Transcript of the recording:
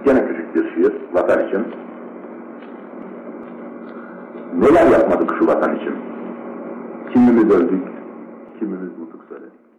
Gene küçük bir şiir, vatan için. Neler yapmadık şu vatan için? Kimimiz öldük, kimimiz nutuk söyledik.